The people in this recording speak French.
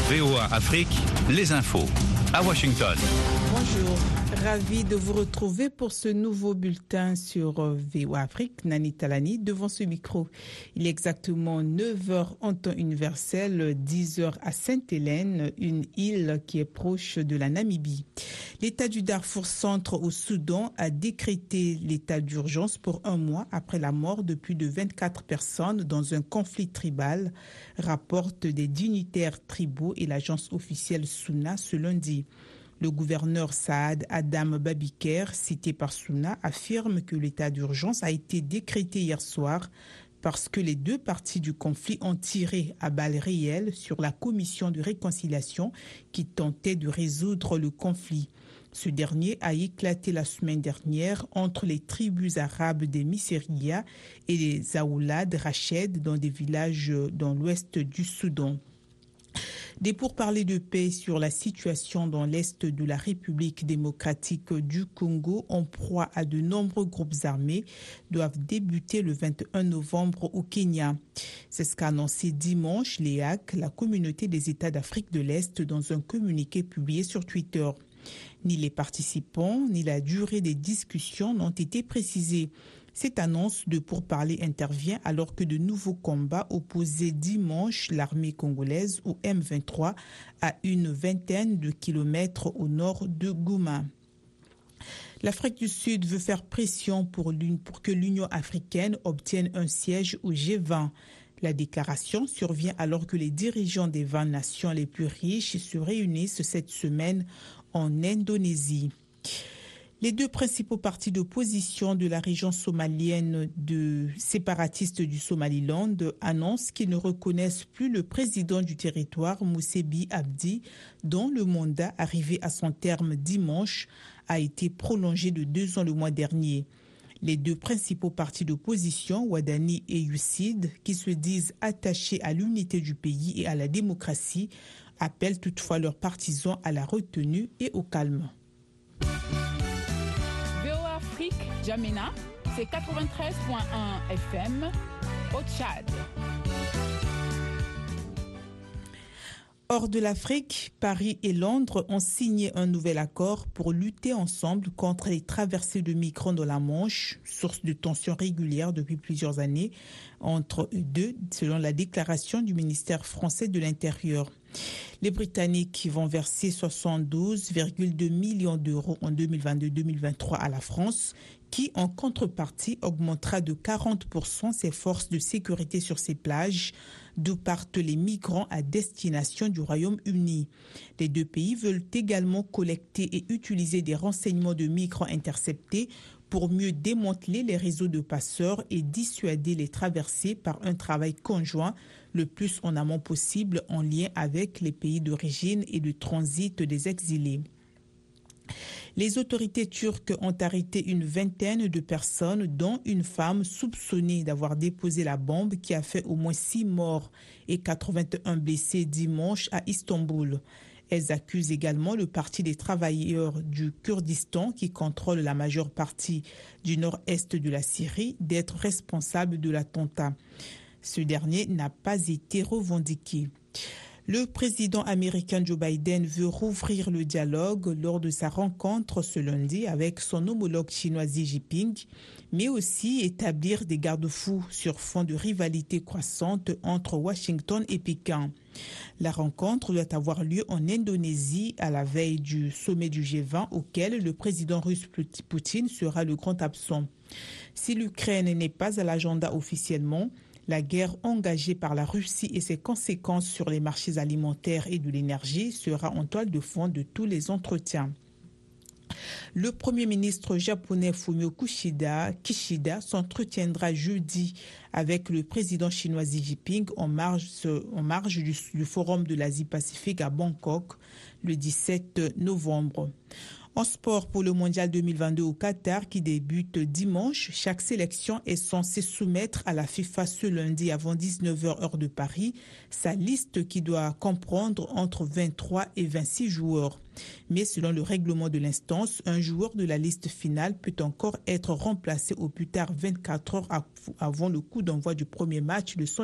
VOA Afrique, les infos à Washington. Bonjour, ravi de vous retrouver pour ce nouveau bulletin sur VOA Afrique. Nani Talani devant ce micro. Il est exactement 9h en temps universel, 10h à Sainte-Hélène, une île qui est proche de la Namibie. L'État du Darfour centre au Soudan a décrété l'état d'urgence pour un mois après la mort de plus de 24 personnes dans un conflit tribal, rapportent des dignitaires tribaux et l'agence officielle SUNA ce lundi. Le gouverneur Saad Adam Babiker, cité par SUNA, affirme que l'état d'urgence a été décrété hier soir parce que les deux parties du conflit ont tiré à balles réelles sur la commission de réconciliation qui tentait de résoudre le conflit. Ce dernier a éclaté la semaine dernière entre les tribus arabes des Misseria et les Aoulad Rached dans des villages dans l'ouest du Soudan. Des pourparlers de paix sur la situation dans l'est de la République démocratique du Congo en proie à de nombreux groupes armés doivent débuter le 21 novembre au Kenya. C'est ce qu'a annoncé dimanche l'EAC, la communauté des États d'Afrique de l'Est, dans un communiqué publié sur Twitter. Ni les participants, ni la durée des discussions n'ont été précisés. Cette annonce de pourparlers intervient alors que de nouveaux combats opposaient dimanche l'armée congolaise au M23 à une vingtaine de kilomètres au nord de Goma. L'Afrique du Sud veut faire pression pour que l'Union africaine obtienne un siège au G20. La déclaration survient alors que les dirigeants des 20 nations les plus riches se réunissent cette semaine en Indonésie. Les deux principaux partis d'opposition de la région somalienne de séparatistes du Somaliland annoncent qu'ils ne reconnaissent plus le président du territoire, Moussa Bihi Abdi, dont le mandat, arrivé à son terme dimanche, a été prolongé de 2 ans le mois dernier. Les deux principaux partis d'opposition, Wadani et UCID, qui se disent attachés à l'unité du pays et à la démocratie, appellent toutefois leurs partisans à la retenue et au calme. VOA Afrique, Djamena, c'est 93.1 FM au Tchad. Hors de l'Afrique, Paris et Londres ont signé un nouvel accord pour lutter ensemble contre les traversées de migrants dans la Manche, source de tensions régulières depuis plusieurs années entre eux deux, selon la déclaration du ministère français de l'Intérieur. Les Britanniques vont verser 72,2 millions d'euros en 2022-2023 à la France, qui en contrepartie augmentera de 40% ses forces de sécurité sur ses plages, d'où partent les migrants à destination du Royaume-Uni. Les deux pays veulent également collecter et utiliser des renseignements de migrants interceptés pour mieux démanteler les réseaux de passeurs et dissuader les traversées par un travail conjoint le plus en amont possible en lien avec les pays d'origine et de transit des exilés. Les autorités turques ont arrêté une vingtaine de personnes, dont une femme soupçonnée d'avoir déposé la bombe qui a fait au moins 6 morts et 81 blessés dimanche à Istanbul. Elles accusent également le Parti des travailleurs du Kurdistan, qui contrôle la majeure partie du nord-est de la Syrie, d'être responsable de l'attentat. Ce dernier n'a pas été revendiqué. Le président américain Joe Biden veut rouvrir le dialogue lors de sa rencontre ce lundi avec son homologue chinois Xi Jinping, mais aussi établir des garde-fous sur fond de rivalité croissante entre Washington et Pékin. La rencontre doit avoir lieu en Indonésie à la veille du sommet du G20 auquel le président russe Poutine sera le grand absent. Si l'Ukraine n'est pas à l'agenda officiellement, la guerre engagée par la Russie et ses conséquences sur les marchés alimentaires et de l'énergie sera en toile de fond de tous les entretiens. Le Premier ministre japonais Fumio Kishida s'entretiendra jeudi avec le président chinois Xi Jinping en marge du Forum de l'Asie-Pacifique à Bangkok le 17 novembre. En sport, pour le Mondial 2022 au Qatar qui débute dimanche, chaque sélection est censée soumettre à la FIFA ce lundi avant 19h heure de Paris sa liste qui doit comprendre entre 23 et 26 joueurs. Mais selon le règlement de l'instance, un joueur de la liste finale peut encore être remplacé au plus tard 24 heures avant le coup d'envoi du premier match de son